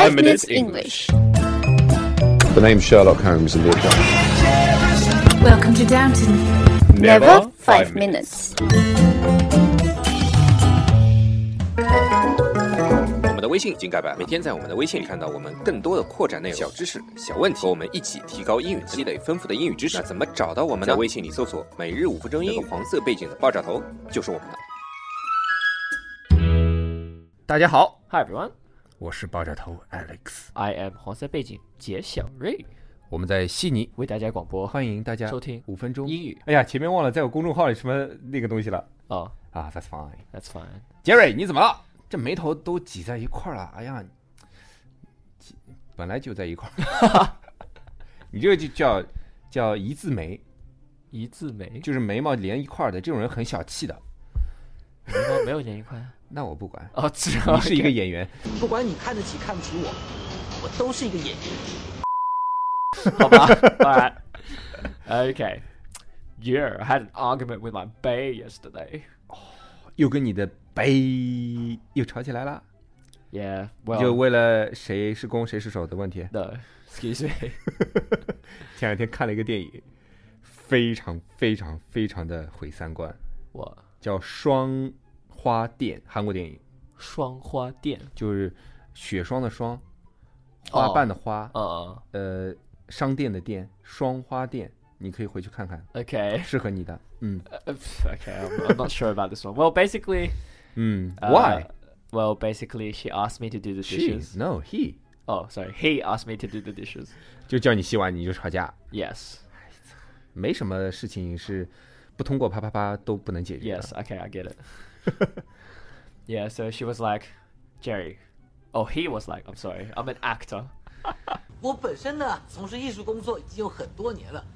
5 Minutes English. The name's Sherlock Holmes in the account. Welcome to Downton. Never 5 minutes. 我们的微信已经改版，每天在我们的微信里看到我们更多的扩展内容、小知识、小问题，和我们一起提高英语，积累丰富的英语知识。那怎么找到我们呢？在微信里搜索"每日5分钟英语"，黄色背景的爆炸头就是我们的。 大家好 Hi everyone, 我是爆炸头 Alex， I am 黄色背景杰小瑞， 我们在悉尼为大家广播， 欢迎大家收听 5分钟英语。 哎呀，前面忘了在我公众号里什么那个东西了哦、 啊 That's fine. That's fine. 杰瑞，你怎么了？这眉头都挤在一块了。哎呀，本来就在一块你这个就叫一字眉， 一字眉就是眉毛连一块的，这种人很小气的。 眉毛没有连一块那我不管哦， 你是一个演员， 不管你看得起看不起我，我都是一个演员。 好吧 Alright. Okay. Yeah, I had an argument with my bae yesterday. 又跟你的杯又吵起来了。 Yeah, 就 well, 为了谁是攻谁是守的问题。 no, excuse me. 前两天看了一个电影，非常非常非常的毁三观， What? 叫《双花店》，韩国电影， 双花店就是雪霜的霜，花瓣的花，商店的店，双花店，你可以回去看看， Okay. 适合你的。 Okay, I'm not sure about this one. Well, basically, Why? Well, basically, she asked me to do the She? dishes. No, he. Oh, sorry. He asked me to do the dishes. 就叫你洗碗你就吵架， Yes. 没什么事情是不通过啪啪啪都不能解决的。 Yes. Okay, I get it. Yeah. So she was like, Jerry. Oh, he was like, I'm sorry. I'm an actor. 我本身呢，从事艺术工作已经有很多年了。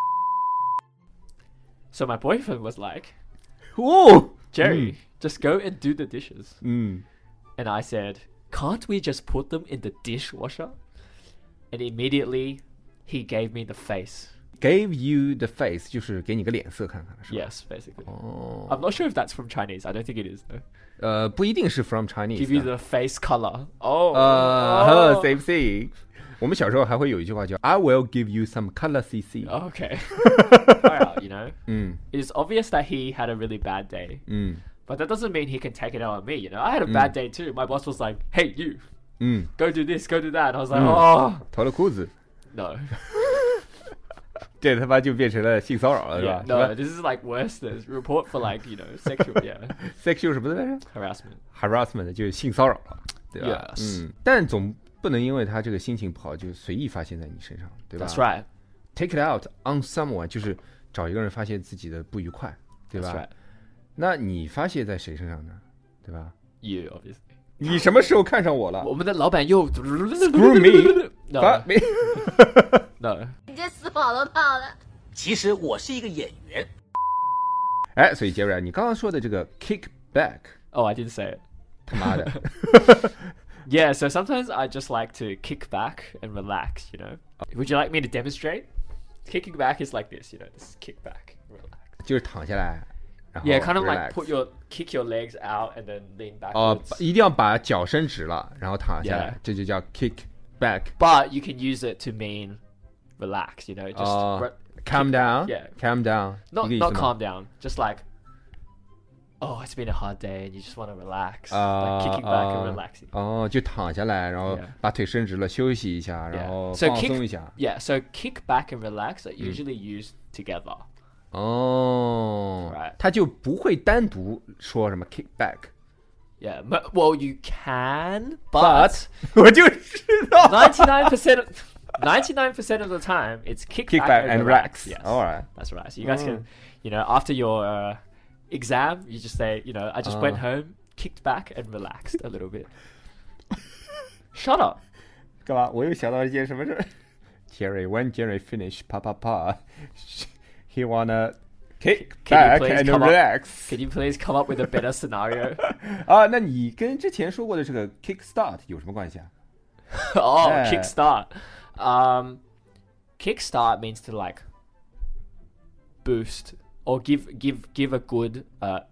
So my boyfriend was like, 哦 Jerry, just go and do the dishes. 嗯 And I said, can't we just put them in the dishwasher? And immediately, he gave me the face. Gave you the face 就是给你个脸色看看，是吧？ Yes, basically. 哦 I'm not sure if that's from Chinese. I don't think it is, though. 不一定是 from Chinese Give you 的 the face color. Oh. same thing。我们小时候还会有一句话叫 I will give you some color CC。 Okay. Alright, you know. 嗯 It is obvious that he had a really bad day. 嗯 But that doesn't mean he can take it out on me, you know. I had a bad day too. My boss was like, hey, you, 嗯， go do this, go do that. And I was like, oh, 脱了裤子， no. 这他妈就变成了性骚扰了，是 Yeah, 吧？ no, this is like worse than report for like, you know, sexual, yeah, sexual 什么来着 harassment. ？harassment 就是性骚扰了，对吧 Yes. 但总不能因为他这个心情不好就随意发泄在你身上，对吧 That's right. ？Take it out on someone 就是找一个人发泄自己的不愉快，对 That's 吧 right. 那你发泄在谁身上呢？对吧？ You, obviously. 你什么时候看上我了？ 我们的老板又 Screw me. No, 没 no. 你这死跑都跑了。 其实我是一个演员。 哎，所以杰瑞，你刚刚说的这个 kick back， Oh, I didn't say it. 他妈的， Yeah, so sometimes I just like to kick back and relax, you know. Would you like me to demonstrate? Kicking back is like this, you know, this kick back, relax. 就是躺下来，然后 Yeah, kind of relax like kick your legs out and then lean 哦 backwards. 一定要把脚伸直了，然后躺下来 Yeah 这就叫 kick back。 But you can use it to mean relax, you know, just Calm down, Yeah. calm down， not 一个意思 not 吗 calm down, just like, oh, it's been a hard day and you just want to relax, like kicking back and relaxing. 哦，就躺下来，然后 Yeah 把腿伸直了，休息一下，然后 So 放 kick- 松一下。 Yeah, so kick back and relax are usually used together. 哦 Right 他就不会单独说什么 kick back， Yeah, well, you can, but 我就知道 99% of the time, it's kick, kick back, back and relax. relax。 Yes, Alright， that's right. So you guys can, you know, after your exam, you just say, you know, I just went home, kicked back, and relaxed a little bit. Shut up. 干嘛？我又想到一件什么事儿。Jerry, when Jerry finish 啪啪啪 he wanna kick Can you back please and come up- relax。 Can you please come up with a better scenario? 啊，那你跟之前说过的这个 kick start 有什么关系啊？ Oh, Yeah. kickstart. Kickstart means to like boost or give a good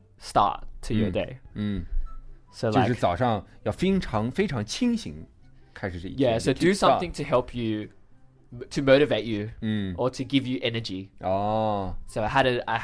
start to your day. 嗯， So 就是 like 早上要非常非常清醒， 开始这一天。 Yeah, so do something to help you, to motivate you, 嗯 or to give you energy. 哦 So I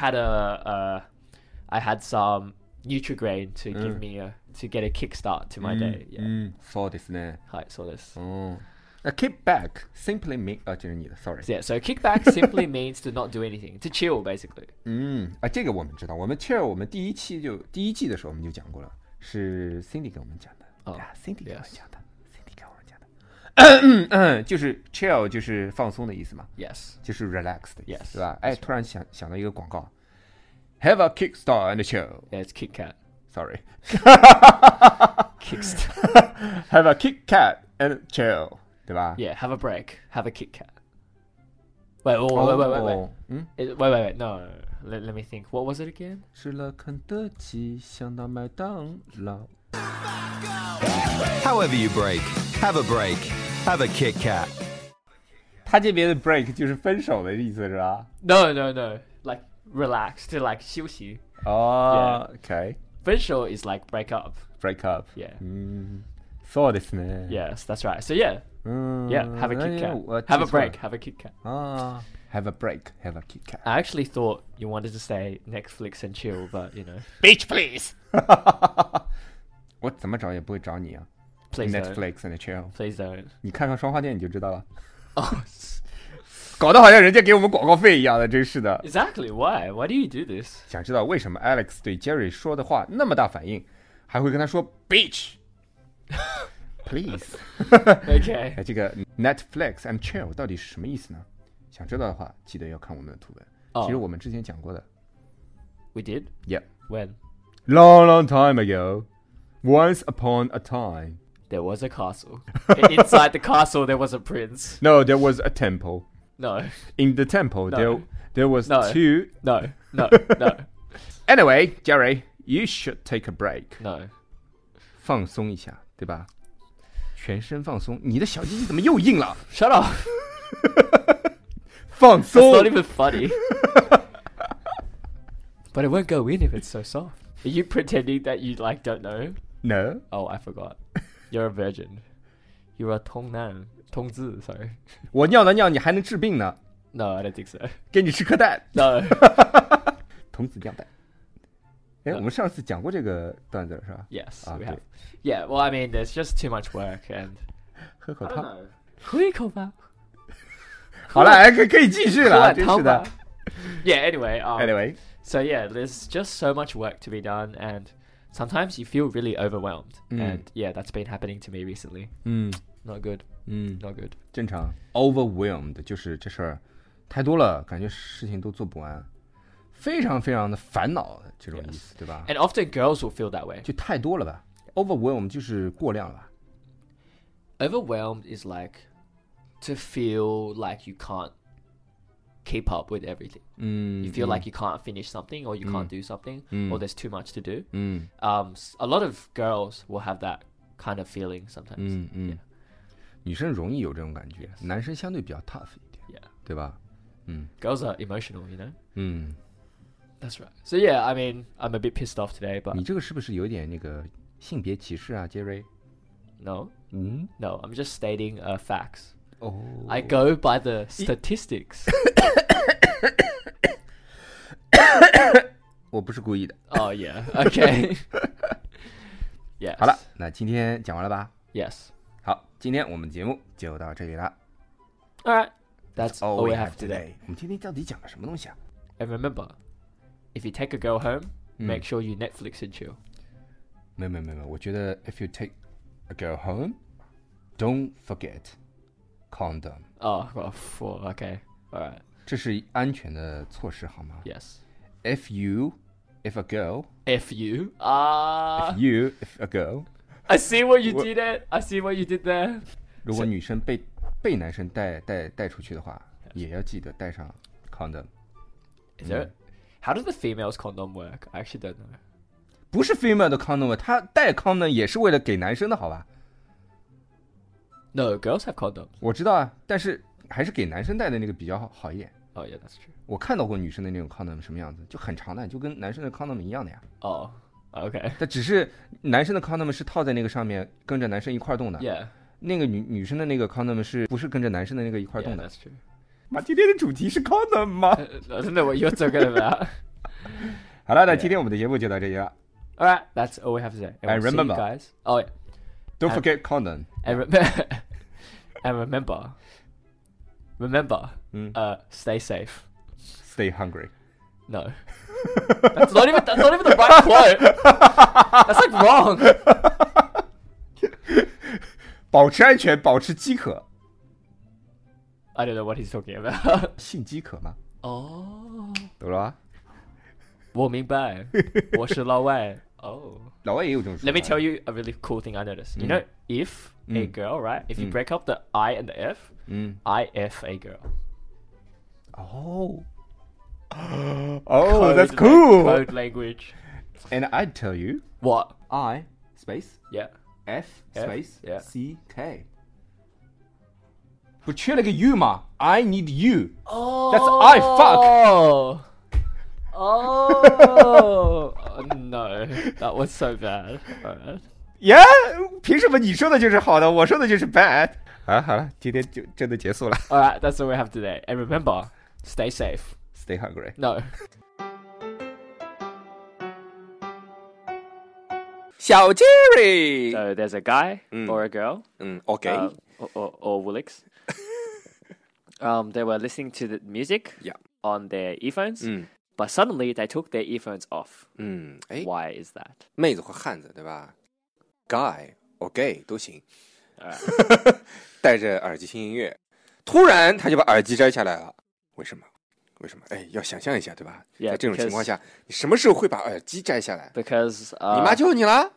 had some Nutri-Grain to give me to get a kickstart to my day. Yeah. 嗯，そうですね。 はい、そうです。 哦，那 kick back simply mean 这是你的 ，sorry。 Yeah, so kickback simply means to not do anything, to chill basically. 这个我们知道，我们 chill 我们第一季的时候我们就讲过了，是 Cindy 给我们讲的。Cindy 给我们讲的。Cindy 给我们讲的。就是 chill 就是放松的意思嘛。 Yes. 就是 relax 的意思， Yes. 对吧？哎，突然想到一个广告 ，Have a kickstart and chill. Yeah, it's Kit Kat. Sorry. Kickstart. Have a Kit Kat and chill. 对吧 Yeah, have a break. Have a Kit Kat. Wait. Wait. No. Let me think. What was it again? 吃了肯德基，想到麦当劳。 However you break, have a break. Have a Kit Kat. 他这边的 break 就是分手的意思是吧？ No. Like relax, to like 休息。 哦 ，OK， 分手 is like break up. break up。 Yeah. そうですね。 Yes, that's right. So yeah. Yeah, have a Kit Kat. Have a break, have a Kit Kat. Have a break, have a Kit Kat. I actually thought you wanted to say Netflix and chill, but you know. Beach please. 我怎么找也不会找你啊。 Please don't. Netflix and chill. Please don't. 你看看双花店你就知道了。 Oh, 搞得好像人家给我们广告费一样的，真是的。 exactly. Why? Why do you do this? 想知道为什么 Alex 对 Jerry 说的话那么大反应，还会跟他说 Beach please。 Okay. 哎，这个 Netflix and chill 到底是什么意思呢？想知道的话，记得要看我们的图文。 哦其实我们之前讲过的。 We did? Yeah. When? Long time ago, once upon a time. There was a castle. Inside the castle, there was a prince. No, there was a temple. No. In the temple, No. there was No. two. No. Anyway, Jerry, you should take a break. No. 放松一下，对吧？全身放松。你的小鸡鸡怎么又硬了？ Shut up. 放 It's 松。 not even funny. But it won't go in if it's so soft. Are you pretending that you like don't know? No. Oh, I forgot. You're a virgin. You're a 童男. 童子, sorry. 我尿的尿，你还能治病呢？ No, I don't think so. 给你吃颗蛋。 No. 童子尿蛋。哎，我们上次讲过这个段子了是吧？ Yes, 啊， we 对 have. Yeah, well, I mean, there's just too much work and... 喝口 I don't 汤。 know. 喝一口吧。 好了，哎，可以继续了，真是的。 Yeah, anyway. Anyway. So yeah, there's just so much work to be done and sometimes you feel really overwhelmed. And yeah, that's been happening to me recently. Not good. Not good. 正常 overwhelmed 就是这事儿太多了，感觉事情都做不完，非常非常的烦恼的这种意思，对吧？ And often girls will feel that way. 就太多了吧 ？overwhelmed 就是过量了吧？ Overwhelmed is like to feel like you can't keep up with everything. You feel like you can't finish something or you can't do something or there's too much to do. A lot of girls will have that kind of feeling sometimes. Yeah. 女生容易有这种感觉，男生相对比较 tough 一点， Yeah. 对吧？ Girls are emotional, you know? 嗯， That's right. So yeah, I mean, I'm a bit pissed off today, but 你这个是不是有点那个性别歧视啊，杰瑞？ no, I'm just stating facts. 哦， I go by the statistics. 我不是故意的。 Oh yeah, okay. Yes. 好了，那今天讲完了吧？ Yes. 好，今天我们节目就到这里了。 All right. That's all we have today. 我们今天到底讲了什么东西啊？ And remember, if you take a girl home, make sure you Netflix and chill. 没有，我觉得 if you take a girl home, don't forget condom. Oh, well, okay. All right. 这是安全的措施，好吗 Yes. if a girl, F you. if a girl, I see what you did there. I see what you did there. 如果女生被男生带出去的话，也要记得带上 condom。 Is there? How does the female's condom work? I actually don't know. 不是 female 的 condom， 她带 condom 也是为了给男生的，好吧？ No, girls have condoms. 我知道啊，但是还是给男生带的那个比较好一点。 Oh yeah, that's true. 我看到过女生的那种 condom 什么样子，就很长的，就跟男生的 condom 一样的呀。 Oh, okay. 但只是男生的 condom 是套在那个上面，跟着男生一块动的。 Yeah. 那个女生的那个 condom 是不是跟着男生的那个一块动的 That's true. 妈，今天的主题是 condom 吗？ Doesn't know what you're talking about. 好了，那今天我们的节目就到这里了。 All right, that's all we have to say. And we'll see you remember- guys. Oh yeah, Don't forget condom. and remember, stay safe. Stay hungry. No, that's not even the right quote. That's like wrong. 保持安全，保持饥渴。 I don't know what he's talking about. 性饥渴吗？ 哦， 懂了吧？ 我明白，我是老外。Oh. 老外也有这种说法。 Let me tell you a really cool thing I noticed. You know, if a girl, right? If you break up the I and the F, I F a girl. Oh. Oh, that's cool. Code language. And I'd tell you, What? I space Yeah. F space yeah. C K. 不缺了个 U 吗 ？I need you. Oh. That's I fuck. Oh. No, that was so bad. Alright. Yeah， 凭什么你说的就是好的，我说的就是 bad？ 好了，今天就真的结束了。 Alright, that's all we have today. And remember, stay safe. Stay hungry. No. 小 Jerry， So there's a guy or a girl, OK， or Woolix. They were listening to the music Yeah. on their earphones, but suddenly they took their earphones off. 哎， Why is that? 妹子或汉子对吧 ？Guy or gay 都行，戴着耳机听音乐，突然他就把耳机摘下来了，为什么？为什么？哎，要想象一下对吧？ Yeah, 在这种情况下，你什么时候会把耳机摘下来？ Because 你妈叫你了？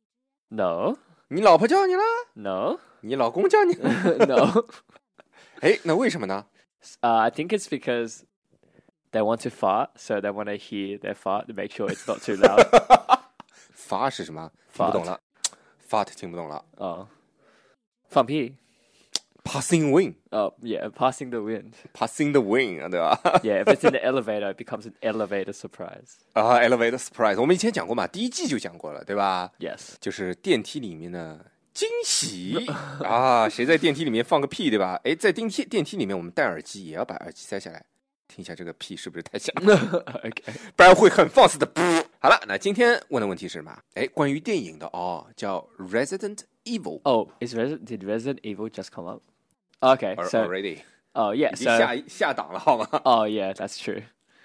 no, 你老婆叫你了？ no, 你老公叫你了？ no. 哎，那为什么呢？ I think it's because they want to fart, so they want to hear their fart to make sure it's not too loud. 发是什么？听不懂了。Fart 听不懂了。 放屁。 Passing wind， Yeah, passing the wind. Passing the wind， 对吧？ Yeah, if it's in the elevator, it becomes an elevator surprise. Elevator surprise， 我们以前讲过嘛，第一季就讲过了，对吧？ Yes. 就是电梯里面的惊喜啊！谁在电梯里面放个屁，对吧？哎，在电梯里面，我们戴耳机也要把耳机塞下来，听一下这个屁是不是太响了， Okay. 不然会很放肆的噗。好了，那今天问的问题是什么？哎，关于电影的叫 Resident Evil。 Oh, did Resident Evil just come up? Okay, so already oh yeah, 已经 so 下档了，好吗？ oh yeah, that's true.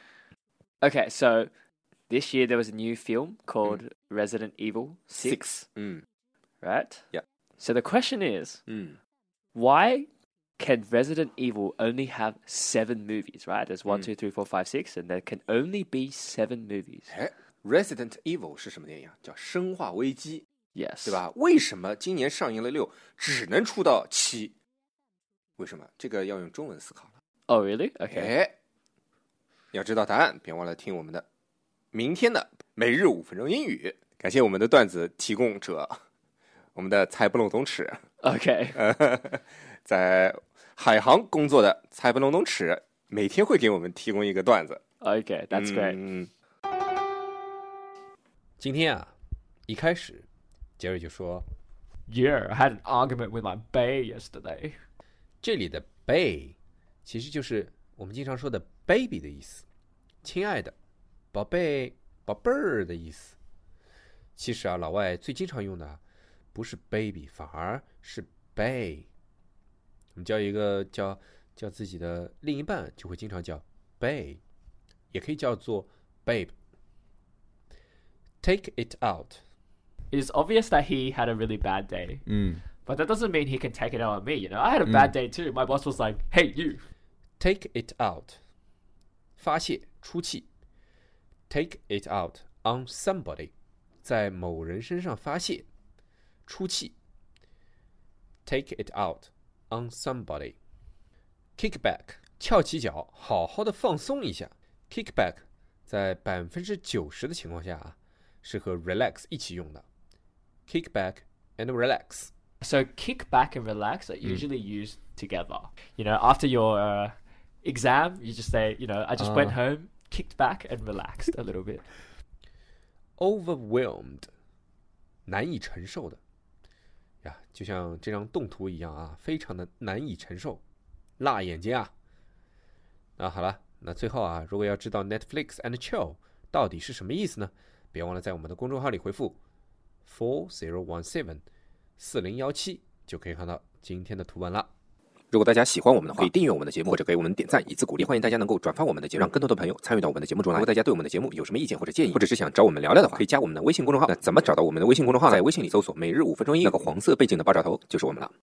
Okay, so this year there was a new film called Resident Evil 6, right? Yeah. So the question is, why can Resident Evil only have 7 movies, right? There's 1, 2, 3, 4, 5, 6, and there can only be 7 movies. 哎 ，Resident Evil 是什么电影啊？叫《生化危机》， Yes. 对吧？为什么今年上映了6，只能出到7？为什么？这个要用中文思考了。 Oh, really? Okay. 哎，要知道答案，别忘了听我们的明天的每日5分钟英语。感谢我们的段子提供者，我们的猜不漏懂齿， Okay. 在海航工作的猜不漏懂齿，每天会给我们提供一个段子。 Okay, that's great. 今天啊，一开始杰瑞就说， Yeah, I had an argument with my bae yesterday. 这里的 bae 其实就是我们经常说的 baby 的意思，亲爱的、宝贝、宝贝儿的意思。其实啊，老外最经常用的不是 baby， 反而是 bae。我们叫一个叫自己的另一半，就会经常叫 bae， 也可以叫做 babe。Take it out. It is obvious that he had a really bad day. But that doesn't mean he can take it out on me, you know? I had a bad day too. My boss was like, hey, you. Take it out. 发泄、出气。Take it out on somebody. 在某人身上发泄、出气。Take it out on somebody. Kick back. 翘起脚，好好的放松一下。Kick back 在90%的情况下啊，是和 relax 一起用的。Kick back and relax. So kick back and relax are usually used together. You know, after your exam, you just say, you know, I just went home, kicked back and relaxed a little bit. Overwhelmed 难以承受的。 呀，就像这张动图一样啊，非常的难以承受，辣眼睛啊。那好了，那最后啊，如果要知道 Netflix and chill 到底是什么意思呢？别忘了在我们的公众号里回复4017就可以看到今天的图文了。如果大家喜欢我们的话，可以订阅我们的节目，或者给我们点赞以资鼓励。欢迎大家能够转发我们的节目，让更多的朋友参与到我们的节目中来。如果大家对我们的节目有什么意见或者建议，或者是想找我们聊聊的话，可以加我们的微信公众号。那怎么找到我们的微信公众号？在微信里搜索每日5分钟英语，那个黄色背景的爆炸头就是我们了。